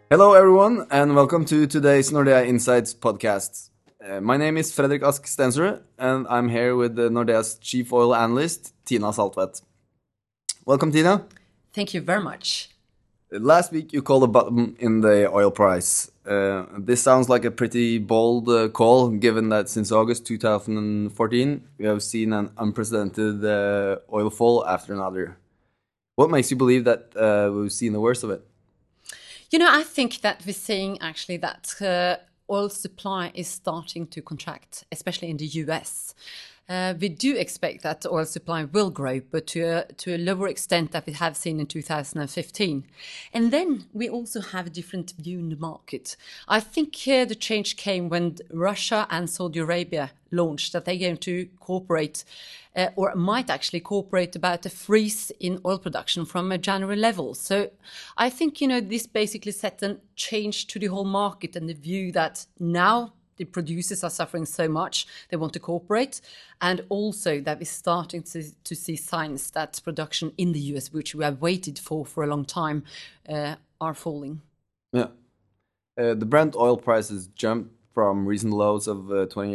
Hello, everyone, and welcome to today's Nordea Insights podcast. My name is Fredrik Ask Stensrud, and I'm here with Nordea's chief oil analyst, Tina Saltvedt. Welcome, Tina. Thank you very much. Last week, you called a bottom in the oil price. This sounds like a pretty bold call, given that since August 2014, we have seen an unprecedented oil fall after another. What makes you believe that we've seen the worst of it? I think that we're seeing actually that oil supply is starting to contract, especially in the US. We do expect that oil supply will grow, but to a lower extent that we have seen in 2015. And then we also have a different view in the market. I think the change came when Russia and Saudi Arabia launched that they're going to cooperate or might actually cooperate about a freeze in oil production from a January level. So I think, this basically set a change to the whole market and the view that now the producers are suffering so much, they want to cooperate, and also that we're starting to see signs that production in the US, which we have waited for a long time, are falling. Yeah. The Brent oil prices jumped from recent lows of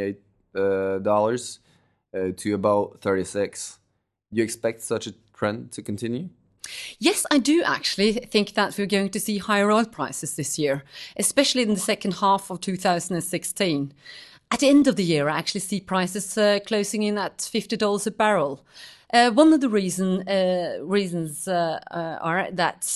$28 to about 36. Do you expect such a trend to continue? Yes, I do actually think that we're going to see higher oil prices this year, especially in the second half of 2016. At the end of the year, I actually see prices closing in at $50 a barrel. One of the reasons are that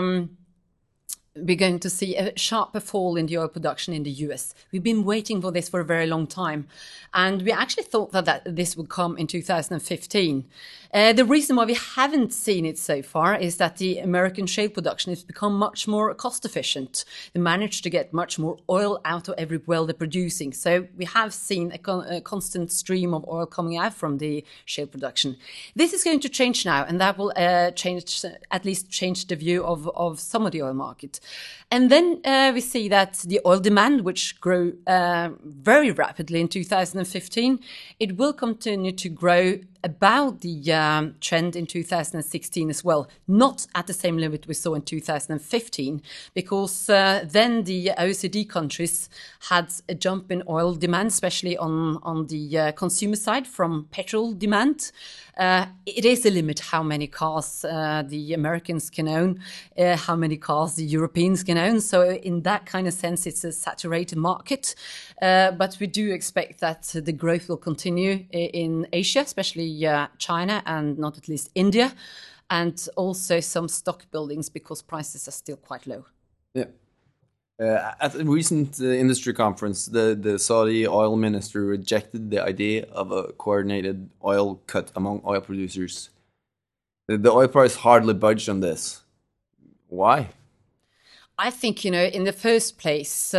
we're going to see a sharper fall in the oil production in the US. We've been waiting for this for a very long time, and we actually thought that this would come in 2015. The reason why we haven't seen it so far is that the American shale production has become much more cost efficient. They managed to get much more oil out of every well they're producing. So we have seen a constant stream of oil coming out from the shale production. This is going to change now, and that will at least change the view of some of the oil market. And then we see that the oil demand, which grew very rapidly in 2015, it will continue to grow about the trend in 2016 as well, not at the same limit we saw in 2015, because then the OECD countries had a jump in oil demand, especially on the consumer side from petrol demand. It is a limit how many cars the Americans can own, how many cars the Europeans can own. So in that kind of sense, it's a saturated market. But we do expect that the growth will continue in Asia, especially China and not at least India, and also some stock buildings because prices are still quite low. Yeah. At a recent industry conference, the Saudi oil minister rejected the idea of a coordinated oil cut among oil producers. The oil price hardly budged on this. Why? I think, in the first place,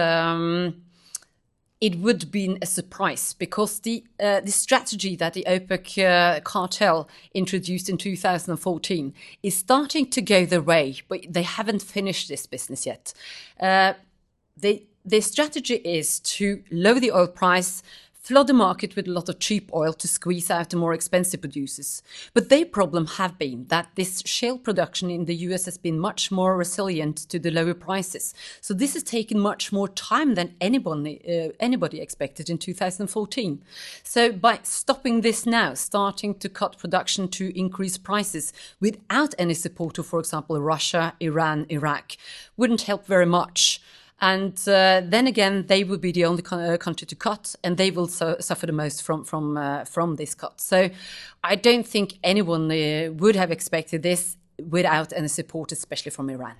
it would have been a surprise because the strategy that the OPEC cartel introduced in 2014 is starting to go their way, but they haven't finished this business yet. The strategy is to lower the oil price, flood the market with a lot of cheap oil to squeeze out the more expensive producers. But their problem have been that this shale production in the US has been much more resilient to the lower prices. So this has taken much more time than anybody expected in 2014. So by stopping this now, starting to cut production to increase prices without any support of, for example, Russia, Iran, Iraq, wouldn't help very much. And then again, they will be the only country to cut, and they will suffer the most from this cut. So I don't think anyone would have expected this without any support, especially from Iran.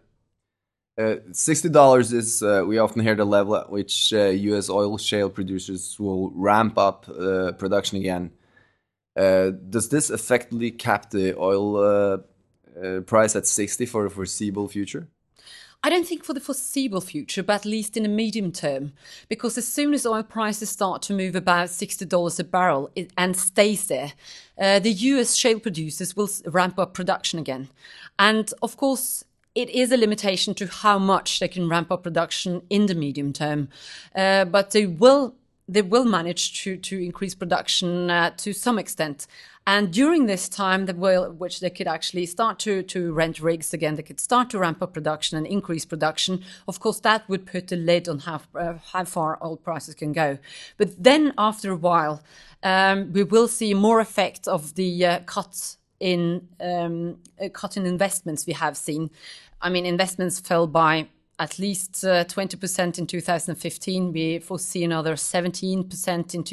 $60 is, we often hear the level at which US oil shale producers will ramp up production again. Does this effectively cap the oil price at 60 for the foreseeable future? I don't think for the foreseeable future, but at least in the medium term, because as soon as oil prices start to move about $60 a barrel and stays there, the US shale producers will ramp up production again. And of course, it is a limitation to how much they can ramp up production in the medium term, but they will manage to increase production to some extent. And during this time, which they could actually start to rent rigs again, they could start to ramp up production and increase production. Of course, that would put a lid on how far oil prices can go. But then after a while, we will see more effect of the cut in investments we have seen. I mean, investments fell by at least 20% in 2015. We foresee another 17% in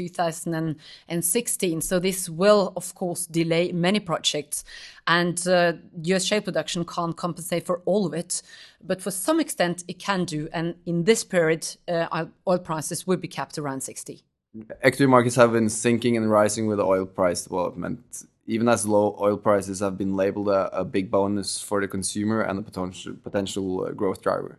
2016. So this will, of course, delay many projects. And US shale production can't compensate for all of it. But for some extent, it can do. And in this period, oil prices would be capped around 60. Equity markets have been sinking and rising with oil price development, even as low oil prices have been labeled a big bonus for the consumer and a potential growth driver.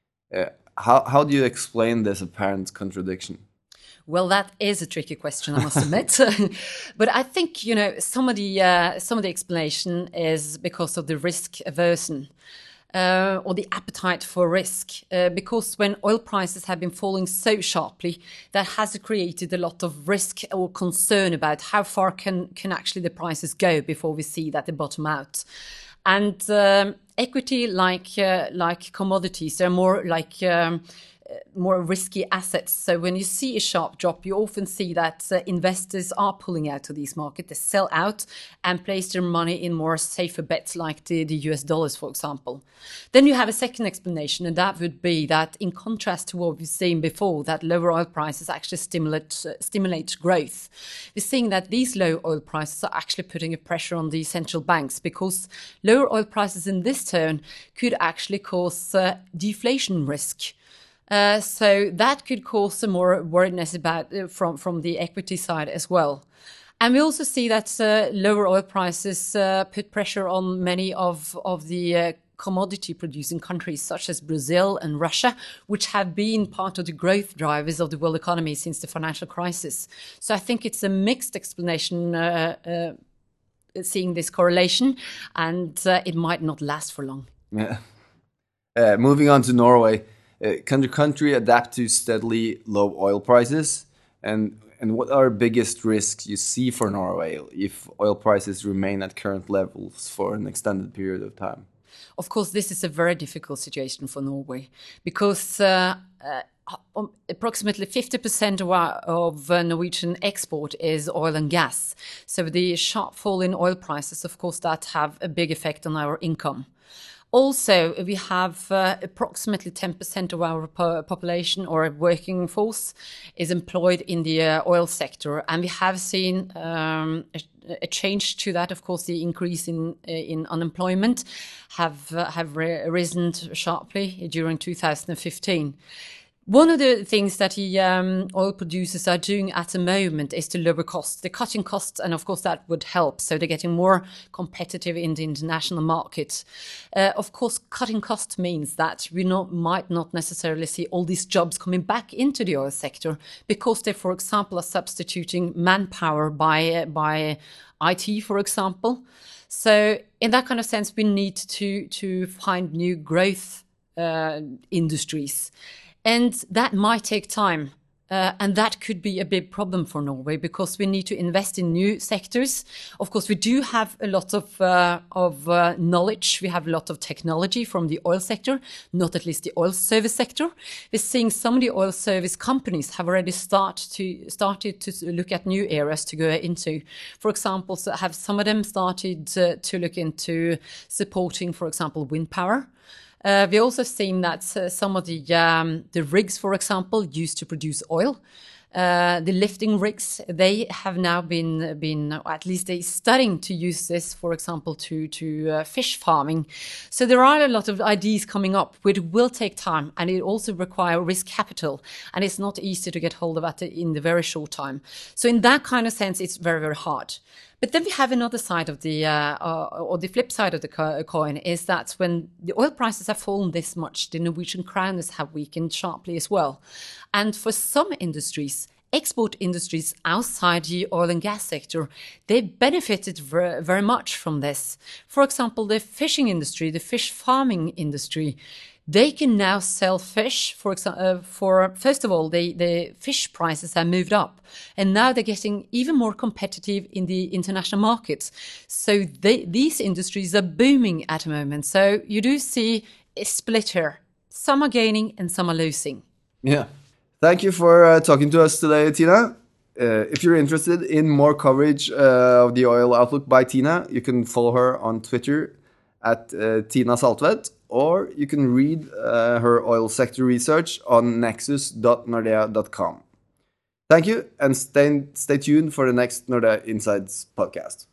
How do you explain this apparent contradiction? Well, that is a tricky question, I must admit. But I think, some of the explanation is because of the risk aversion. Or the appetite for risk, because when oil prices have been falling so sharply, that has created a lot of risk or concern about how far can actually the prices go before we see that they bottom out. And equity, like commodities, they're more like more risky assets. So when you see a sharp drop, you often see that investors are pulling out of these markets. They sell out and place their money in more safer bets like the US dollars, for example. Then you have a second explanation, and that would be that in contrast to what we've seen before, that lower oil prices actually stimulate growth. We're seeing that these low oil prices are actually putting a pressure on the central banks, because lower oil prices in this turn could actually cause deflation risk. So that could cause some more worriedness about from the equity side as well. And we also see that lower oil prices put pressure on many of the commodity producing countries such as Brazil and Russia, which have been part of the growth drivers of the world economy since the financial crisis. So I think it's a mixed explanation seeing this correlation, and it might not last for long. Yeah. Moving on to Norway. Can the country adapt to steadily low oil prices? And what are biggest risks you see for Norway if oil prices remain at current levels for an extended period of time? Of course, this is a very difficult situation for Norway, because approximately 50% of Norwegian export is oil and gas. So the sharp fall in oil prices, of course, that have a big effect on our income. Also, we have approximately 10% of our population or working force is employed in the oil sector, and we have seen a change to that. Of course, the increase in unemployment have risen sharply during 2015. One of the things that the oil producers are doing at the moment is to lower costs. They're cutting costs, and of course that would help. So they're getting more competitive in the international market. Of course, cutting costs means that we might not necessarily see all these jobs coming back into the oil sector, because they, for example, are substituting manpower by IT, for example. So in that kind of sense, we need to find new growth industries. And that might take time. And that could be a big problem for Norway, because we need to invest in new sectors. Of course, we do have a lot of knowledge. We have a lot of technology from the oil sector, not at least the oil service sector. We're seeing some of the oil service companies have already started to look at new areas to go into. For example, so have some of them started to look into supporting, for example, wind power. We also seen that some of the rigs, for example, used to produce oil. The lifting rigs, they have now been at least they're starting to use this, for example, to fish farming. So there are a lot of ideas coming up, which will take time, and it also requires risk capital, and it's not easy to get hold of that in the very short time. So in that kind of sense, it's very, very hard. But then we have another side of or the flip side of the coin, is that when the oil prices have fallen this much, the Norwegian krone have weakened sharply as well. And for some industries, export industries outside the oil and gas sector, they benefited very much from this. For example, the fishing industry, the fish farming industry, they can now sell fish. For first of all, the fish prices have moved up, and now they're getting even more competitive in the international markets. So these industries are booming at the moment. So you do see a split here. Some are gaining and some are losing. Yeah. Thank you for talking to us today, Tina. If you're interested in more coverage of the oil outlook by Tina, you can follow her on Twitter at Tina Saltvedt, or you can read her oil sector research on nexus.nordea.com. Thank you, and stay tuned for the next Nordea Insights podcast.